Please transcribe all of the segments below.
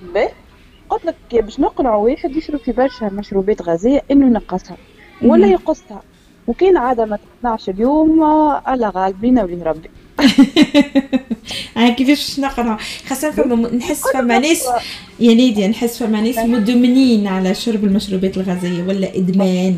باهي. قلت لك باش نقنعوا واحد يشرب في برشا مشروبات غازية إنه ينقصها ولا يقصها، وكان عادة ما تقنعش اليوم الله غالب بينا وبين ربي. كيفاش نقرا خاصة فما نحس نقول فما له ناس يا ليديا، نحس فما ناس مدمنين على شرب المشروبات الغازية ولا إدمان.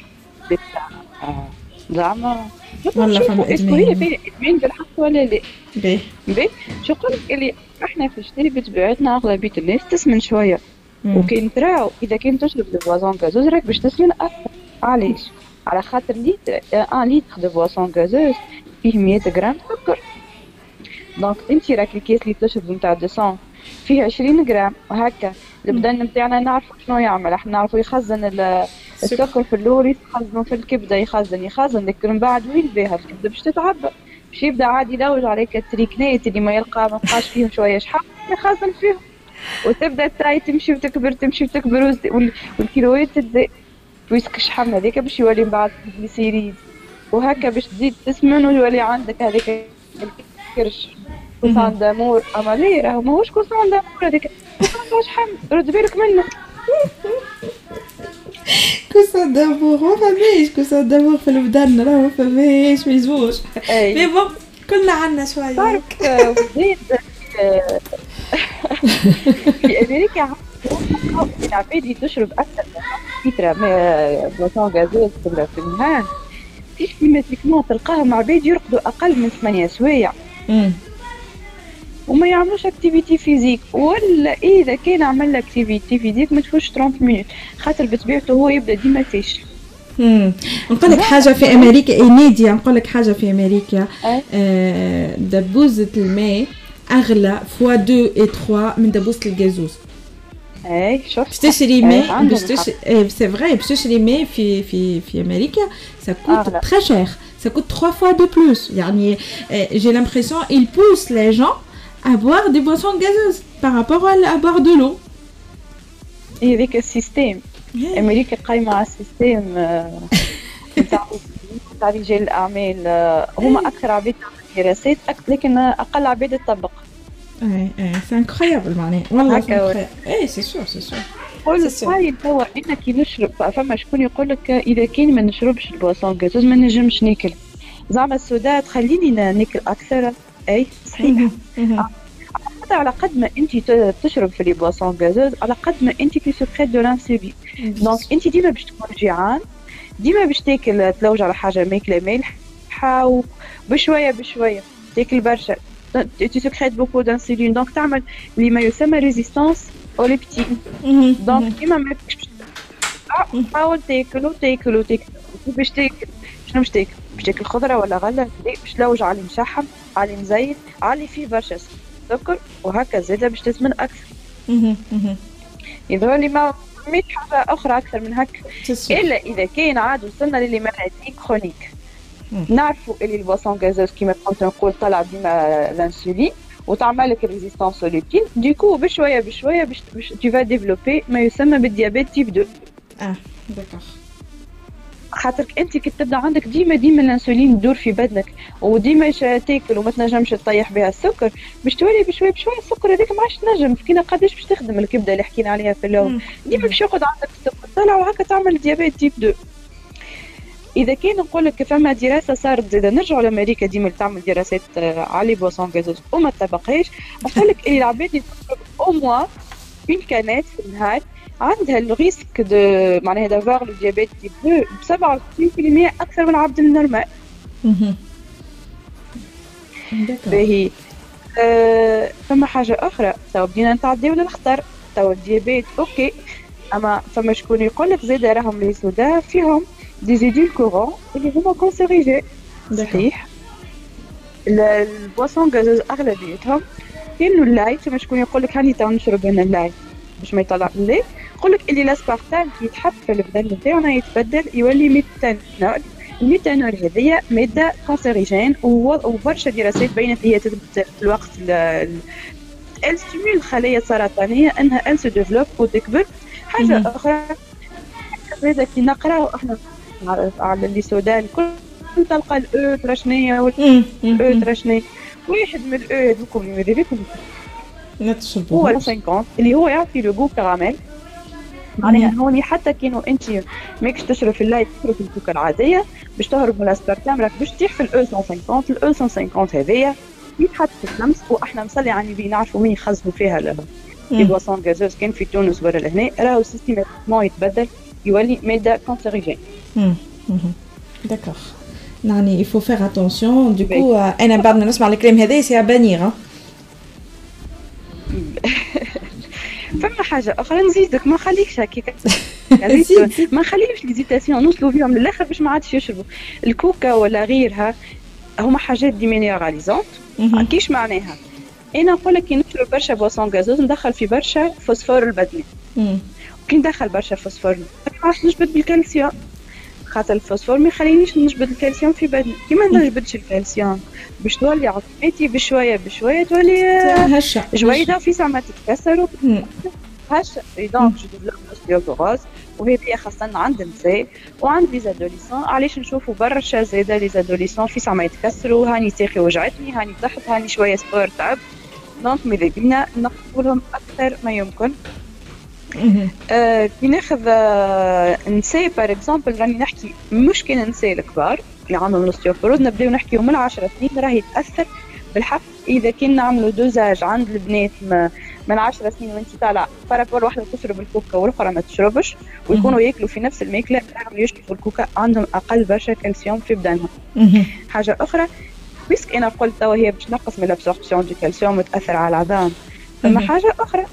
زعما والله فما نشوفوا اسكو هي إدمان. فيها ادمان بالحق ولا لا. باهي. باهي. شو نقول لك اللي احنا في الشتاء بطبيعتنا اغلبيه الناس تسمن شويه، وكان تراو اذا كان تشرب دو بواسون غازوز راك باش تسمن اكثر. علاش؟ على خاطر لتر 1 لتر دو بواسون غازوز فيه 100 غرام سكر. دونك انت راك الكاس اللي تشرب نتاع 200 فيه 20 غرام وهكا. البدن نتاعنا نعرفوا شنو يعمل، احنا نعرفوا يخزن سكر. السكر في اللور، يخزنوا في الكبده، يخزن لكن من بعد وين بها الكبده باش تتعبى، باش يبدا عادي يلوج عليك التريكنات اللي ما يلقى ما بقاش فيهم شويه شحال يخزن فيهم، وتبدا التاي تمشي وتكبر تمشي وتكبر والكيلوات تزيد، ويسك الشحم هذاك باش يولي من بعد جليسيريد، وهكا باش تزيد تسمن ويولي عندك هذاك الكرش كوسان دامور. اما ليه راهو ماهوش كوسان دامور، هذاك كوسان شحم رد بالك منه. كوسا دامور ما فماش كوسا دامور في البدن، راه ما فماش ما يزوش. مي بون كلنا عنا شويه تعرف وزيد في امريكا العباد اللي تشرب اكثر من لتر بواسون غازوز في النهار سيستيماتيكمون تلقاهم عباد يرقدوا اقل من 8 سوايع وما يعملوش اكتيفيتي فيزيك، ولا اذا كان عمل اكتيفيتي فيزيك ما تفوتش 30 مينوت، خاطر بطبيعته هو يبدا ديما فيش. نقول لك حاجه في امريكا نيديا، نقول لك حاجه في امريكا دبوزه الماء اغلى فوا 2 و 3 من دبوزه الغازوز. اي شوف باش تشري ماء باش تشري سي فري باش تشري ماء في امريكا ça coûte très cher, ça coûte 3 fois de plus. يعني j'ai l'impression ils poussent les gens à boire des boissons gazeuses par rapport à boire de l'eau. هذيك السيستم امريكا قايمه على السيستم تاع رجال الاعمال، هما اكثر عباد تعمل دراسات لكن اقل عباد تطبق. سي انكرويابل معناها والله سي اي سي سور سي سور. قول صاير توا انا كي نشرب فما شكون يقول لك اذا كان ما نشربش البواسون غازوز ما نجمش ناكل، زعما السودا تخليني ناكل اكثر. اي صحيح. على قد ما انت تشرب في لي بواسون غازوز على قد ما انت تسكريت دو لانسولين، دونك انت ديما باش تكون جيعان، ديما باش تاكل تلوج على حاجه ماكله مالحه وبشويه بشويه تاكل برشا تسكريت بوكو دانسولين، دونك تعمل اللي ما يسمى ريزيستانس او ليبتين. دونك ديما ما فيكش حاول تاكل باش تاكل شنو باش تاكل؟ باش تاكل خضره ولا غله باش تلوج على مشحم على مزيت على فيه برشا سكر وهكا زاده باش تسمن اكثر. يظهر لي ما ميت حاجه اخرى اكثر من هكا، الا اذا كان عاد وصلنا للي مالادي كرونيك نعرفوا اللي البواسون غازوز كيما كنت نقول طلع ديما الانسولين وتعمل لك ريزيستانس لوبين، ديكو بشويه بشويه باش tu vas développer ما يسمى بالديابيت تيب 2. داكوغ. خاطرك انت كي تبدا عندك ديما الانسولين يدور في بدنك وديما تاكل وما تنجمش تطيح بها السكر، باش تولي بشويه بشويه السكر هذاك ما عادش تنجم. كينا قداش باش تخدم الكبده اللي حكينا عليها في الاول، ديما باش يقعد عندك السكر طلع وهكا تعمل ديابيت تيب 2. اذا كان نقول لك فما دراسه صارت زاده نرجعوا لامريكا ديما تعمل دراسات على بواسون غازوز وما تطبقهاش، نقول لك اللي العباد اللي تشرب او موا اون كانات في النهار عندها الريسك دو معناها دافوار لو ديابيت تيب 2 ب 27% اكثر من العبد النورمال. باهي. فما حاجه اخرى تو بدينا نتعداو للخطر، تو الديابيت اوكي، اما فما شكون يقول لك زاده راهم لي سودا فيهم دي زيدولكورون اللي هما كونسيريجي. صحيح البواسون غازوز اغلبيتهم كاينو اللاي، فما شكون يقول لك هاني تو نشرب انا اللاي باش ما يطلع اللي يقول لك اللي لاسبارتام كي يتحط في البدن نتاعنا يتبدل يولي ميثانول. الميثانول هذيا ماده كونسيريجين وبرشا دراسات بينت هي تثبت في الوقت الستيمول الخلايا السرطانيه انها سو ديفلوب وتكبر. حاجه اخرى هذا كي نقراو احنا على اللي سودان كل تلقى الاو ترشنيه والاو ترشنيه واحد من الاو هذوكم اللي ماذا بيكم هو 50 اللي هو يعطي لو جو كراميل. معناها هوني حتى كانوا انت ماكش تشرب في الليل تشرب الكوكا العاديه باش تهرب من الاسبرتام، راك باش تطيح في الاو 150. الاو 150 هذيا يتحط في الشمس، واحنا مصلي على النبي نعرفوا مين يخزنوا فيها لي بواسون غازوز كان في تونس ولا لهنا، راهو سيستيماتيكمون يتبدل يولي ماده كونسيريجين. داكوغ. يعني il faut faire attention. du coup انا بعد ما نسمع الكلام هذا سي بانيغ. فما حاجه اخرى نزيدك، ما خليكش هكاك ما خليش ليزيتاسيون نوصلوا فيهم للاخر باش ما عادش يشربوا الكوكا ولا غيرها. هما حاجات دي مينيراليزونت. كيش معناها؟ انا نقول لك كي نشرب برشا بواسون غازوز ندخل في برشا فوسفور البدني. كي ندخل برشا فوسفور ما عادش نجبد بالكالسيوم، خاطر الفوسفور ما يخلينيش نجبد الكالسيوم في بدني. كي ما نجبدش الكالسيوم باش تولي عظمتي بشويه بشويه تولي هشه جويده في ساعه ما تتكسر هشه. دونك جو ديفلوب اوستيوبوروز، وهذه خاصه عند النساء وعند لي زادوليسون. علاش نشوفوا برشا زاده لي زادوليسون في ساعه ما يتكسروا، هاني ساقي وجعتني، هاني ضحت، هاني شويه سبور تعب. دونك ماذا بينا نقولهم اكثر ما يمكن. كي ناخذ نساء بار اكزومبل، راني نحكي مش كان النساء الكبار اللي عندهم الاوستيوبوروز، نبداو نحكيو من 10 سنين راهي تاثر بالحق. اذا كنا نعملوا دوزاج عند البنات من 10 سنين وانت طالع بارابور واحده تشرب الكوكا والاخرى ما تشربش، ويكونوا ياكلوا في نفس الماكله، راهم يشربوا الكوكا عندهم اقل برشا كالسيوم في بدنهم. حاجه اخرى بيسك انا قلت توا هي باش نقص من الابسوربسيون دو كالسيوم وتاثر على العظام. ثم حاجه اخرى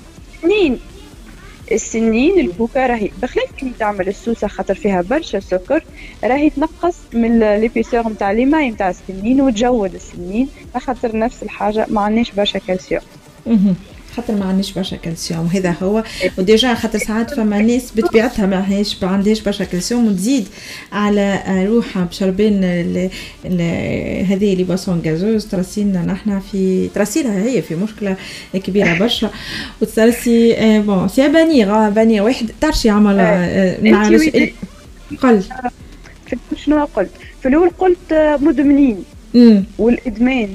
السنين الكوكا راهي بخلاف كي تعمل السوسه خاطر فيها برشا سكر، راهي تنقص من ليبيسور نتاع لي ماي نتاع السنين وتجود السنين، خاطر نفس الحاجه ما عندناش برشا كالسيوم. خاطر ما عندناش برشا كالسيوم هذا هو. وديجا خاطر ساعات فما ناس بطبيعتها ما عندهاش برشا كالسيوم وتزيد على روحها بشربين هذه لي بواسون غازوز ترسينا نحنا في ترسيلها هي في مشكله كبيره برشا. وترسي بون سي بانيغ واحد تعرفي عمل مع قل شنو قلت في الاول؟ قلت مدمنين والادمان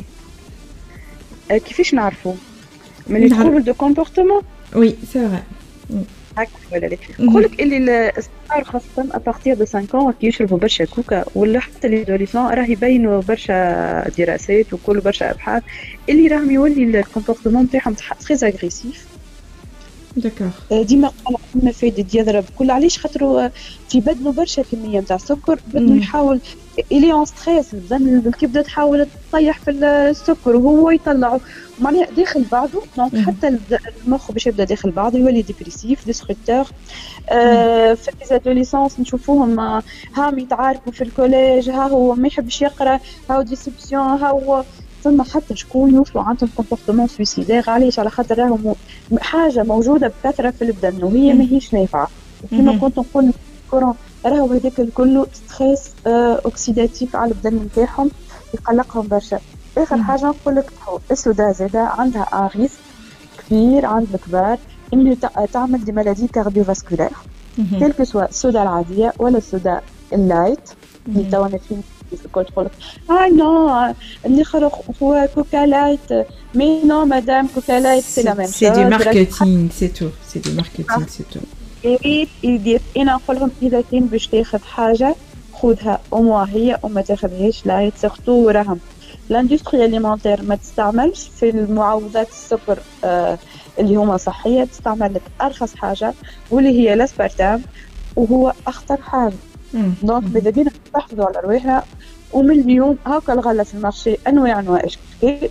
كيفاش نعرفوا من اللي تقولوا دو كومبورتمون؟ وي سي فري هكا ولا لا؟ نقولك اللي الصغار خاصة أبارتيغ دو 5 كي يشربوا برشا كوكا ولا حتى لي دوليسون راه يبينوا برشا دراسات وكل برشا أبحاث اللي راهم يولي الكومبورتمون نتاعهم تري اغريسيف. داكوغ. ديما قال عندنا فايدة يضرب كل علاش خاطروا في بدنه برشا كمية نتاع سكر، بدنه يحاول إلي اون ستريس، البدن الكبدة تحاول تطيح في السكر وهو يطلعه معناها داخل بعضه. دونك حتى المخ باش يبدا داخل بعضه يولي ديبريسيف ديستركتور. في ليزادوليسونس نشوفوهم هاهم يتعاركوا في الكوليج، ها هو ما يحبش يقرا، ها هو ديسبسيون، ها هو ثم حتى شكون يوصلوا عندهم كومبورتمون سويسيدير. علاش؟ على خاطر راهم حاجه موجوده بكثره في البدن وهي ماهيش نافعه. كما كنت نقول كورون راهو هذاك الكل ستريس اوكسيداتيف على البدن نتاعهم يقلقهم برشا. اخر حاجه نقول لك السودا زاده عندها ان ريسك كبير عند الكبار انه تعمل دي مالادي كارديوفاسكولير، كلك سوا السودا العاديه ولا السودا اللايت اللي توا نفين الكل تقول نو اللي خرق هو كوكا لايت. مي نو مدام كوكا لايت سي لا ميم شوز، سي دي ماركتينغ سي تو، سي دي ماركتينغ سي تو. يدير انا نقول لهم اذا كان باش تاخذ حاجه خذها او هي وما تاخذهاش لايت. سورتو راهم لاندستري اليمونتير ما تستعملش في المعوضات السكر اللي هما صحيه، تستعمل لك ارخص حاجه واللي هي الاسبرتام وهو اخطر حاجه. دونك ماذا بينا نحافظوا على رواحنا. ومن اليوم هاكا الغله في المارشي انواع اشكال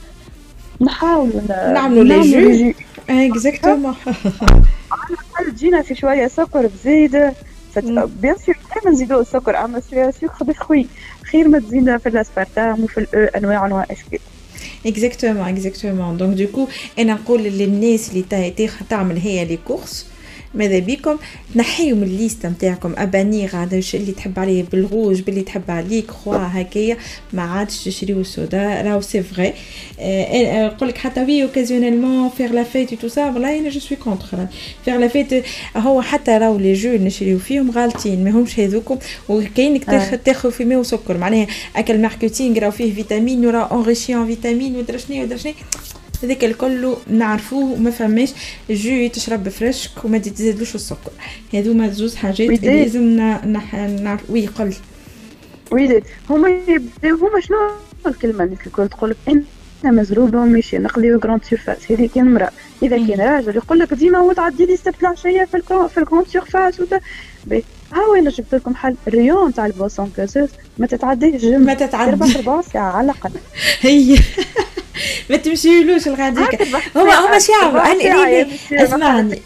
نحاولوا نعملوا لي جو اكزاكتومون على الاقل تجينا في شويه سكر بزياده. بيان سور دائما نزيدوا السكر اما شويه سكر دي خوي خير ما تزيدنا في الاسبرتام وفي انواع اشكال. اكزاكتومون دونك دوكو انا نقول للناس اللي تعمل هي لي كورس ماذا بيكم تنحيوا من الليسته نتاعكم ابانيغ هذا الشيء اللي تحب عليه بالروج باللي تحب عليه كخوا هكايا ما عادش تشريو السودا. راهو سي فري نقول لك حتى وي اوكازيونيلمون فير لا فيت تو سا والله انا جو سوي كونتر فير لا فيت. هو حتى راهو لي جو نشريو فيهم غالطين ماهمش هذوكم وكاينك تاخذ في ماء وسكر معناها اكل ماركتينغ راهو فيه فيتامين وراه اونريشي ان فيتامين ودرا شنو هذاك الكل نعرفوه وما فماش جو تشرب فريشك وما تزيدلوش السكر. هذوما زوز حاجات لازم نعرف. وي قل وي هما شنو الكلمه اللي الكل تقول لك انا مزروبه وماشي نقضيو جراند سيرفاس. هذه كان امراه. اذا كان راجل يقول لك ديما هو تعدي لي السبت العشيه في الجراند سيرفاس ها وين جبت لكم حل الريون تاع البوسون كازوز ما تتعديش ما تتعدى 4 ساعه على الاقل. هي ما تمشيلوش الغاديك. هما شعب اسمعني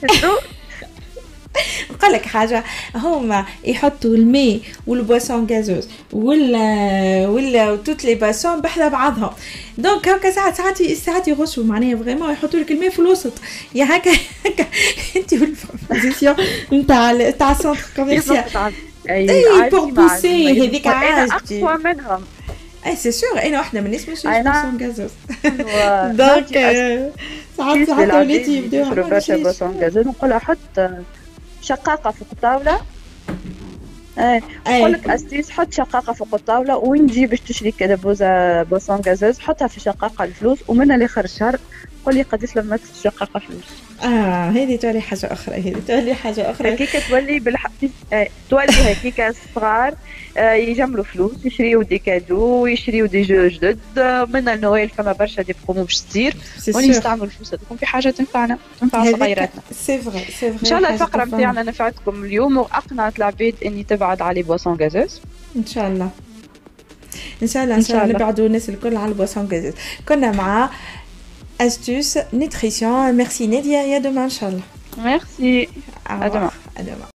نقول لك حاجه. هما يحطوا الماء والبواسون غازوز ولا توت لي باسون بحذا بعضهم. دونك هكا ساعات يغشوا معناها فريمون يحطوا لك الماء في الوسط يا هكا انت والبوزيسيون نتاع السونتر كوميرسيال اي بور بوسي هذيك عاجتي اقوى منهم. اي سي سور انا واحده من الناس مش بواسون غازوز. دونك ساعات وليتي يبداو يشربوا برشا بواسون غازوز. نقولها حط شقاقة فوق الطاولة. نقول لك أستيس حط شقاقة فوق الطاولة وين تجي باش تشري كذا بوسون غازوز حطها في شقاقة الفلوس ومنها لآخر الشهر قولي قداش لما الشقاقة فلوس. هذه تولي حاجة أخرى. هكيكا تولي تولي هكيكا الصغار يجملوا فلوس يشريوا دي كادو ويشريوا دي جو جدد. من النويل فما برشا دي بروموشتير ونستعملوا الفلوس هذوك في حاجة تنفعنا تنفع صغيراتنا. سي فري ان شاء الله الفقرة نتاعنا نفعتكم اليوم واقنعت العباد اني تبعد على بواسون غازوز. ان شاء الله نبعدوا الناس الكل على البواسون غازوز. كنا مع astuce nutrition. Merci Nadia, et à demain Inch'Allah. Merci. À demain.